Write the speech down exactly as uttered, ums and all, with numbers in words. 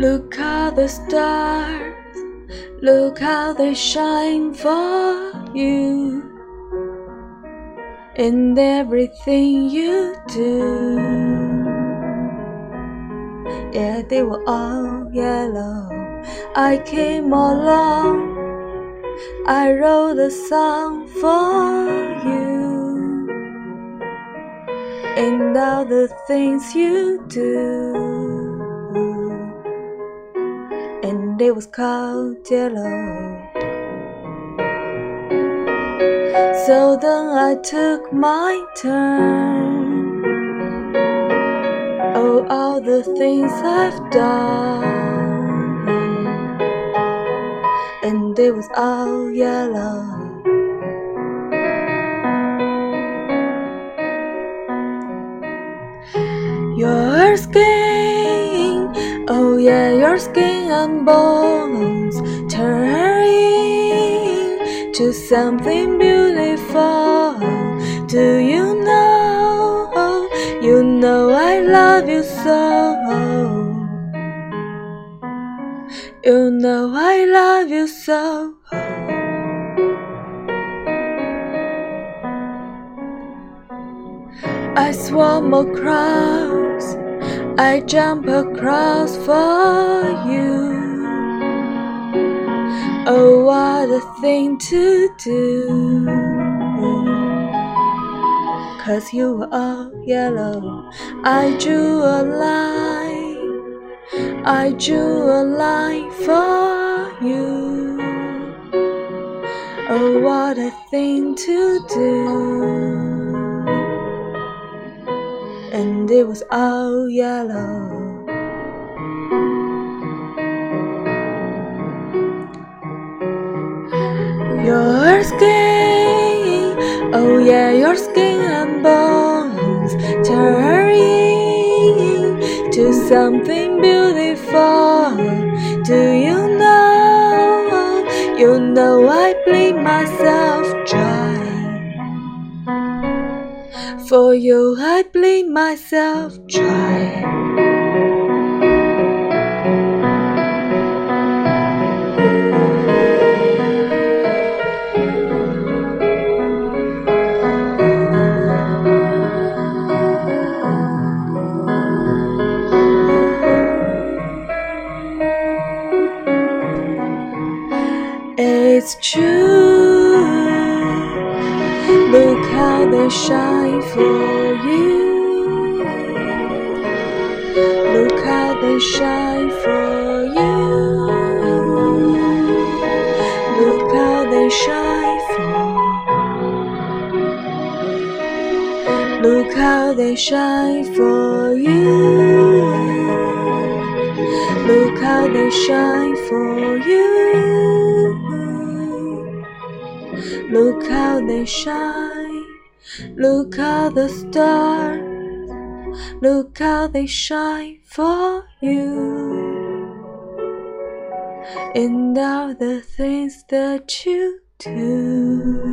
Look how the stars, look how they shine for you. In everything you do, yeah, they were all yellow. I came along, I wrote a song for you. And all the things you do, and it was called yellow. So then I took my turn. Oh, all the things I've done, and it was all yellow. Your skin, oh yeah, your skin and bones turning to something beautiful. Do you know, you know I love you so. You know I love you so. I swam across, I jump across for you. Oh, what a thing to do, 'cause you were all yellow. I drew a line, I drew a line for you. Oh, what a thing to do, and it was all yellow. Your skin, oh yeah, your skin and bones turning to something beautiful. Do you know, you know I bleed myself dry. For you I bleed myself dry. It's true, look how they shine for you. Look how they shine for you. Look how they shine for. Look how they shine for you. Look how they shine for you. Look how they shine, look how the stars, look how they shine for you. And all the things that you do.